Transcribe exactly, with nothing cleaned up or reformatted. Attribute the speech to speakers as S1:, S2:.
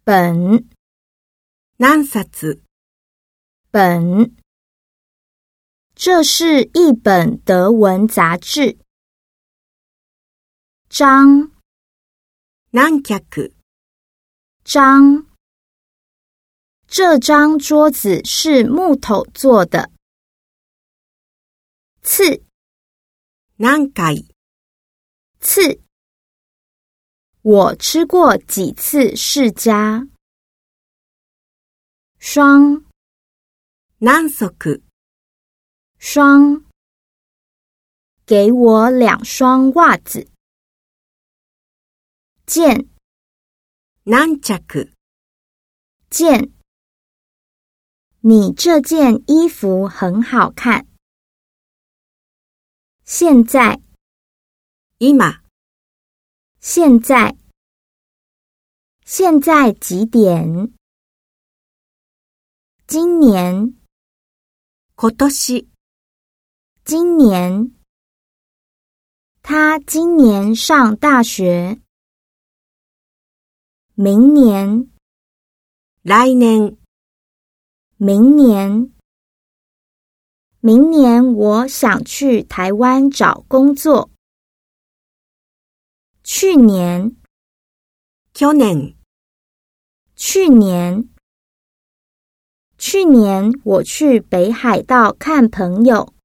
S1: 本
S2: 何冊
S1: 本，这是一本德文杂志。章
S2: 何脚
S1: 章，这张桌子是木头做的。次
S2: 何回
S1: 次，我吃过几次释迦。双
S2: 何足
S1: 双，给我两双袜子。件
S2: 何着
S1: 件，你这件衣服很好看。现在
S2: 今
S1: 现在现在几点？今年
S2: 今年
S1: 今年，他今年上大学。明年
S2: 来年
S1: 明年明年我想去台湾找工作。去年
S2: 去年
S1: 去年去年我去北海道看朋友。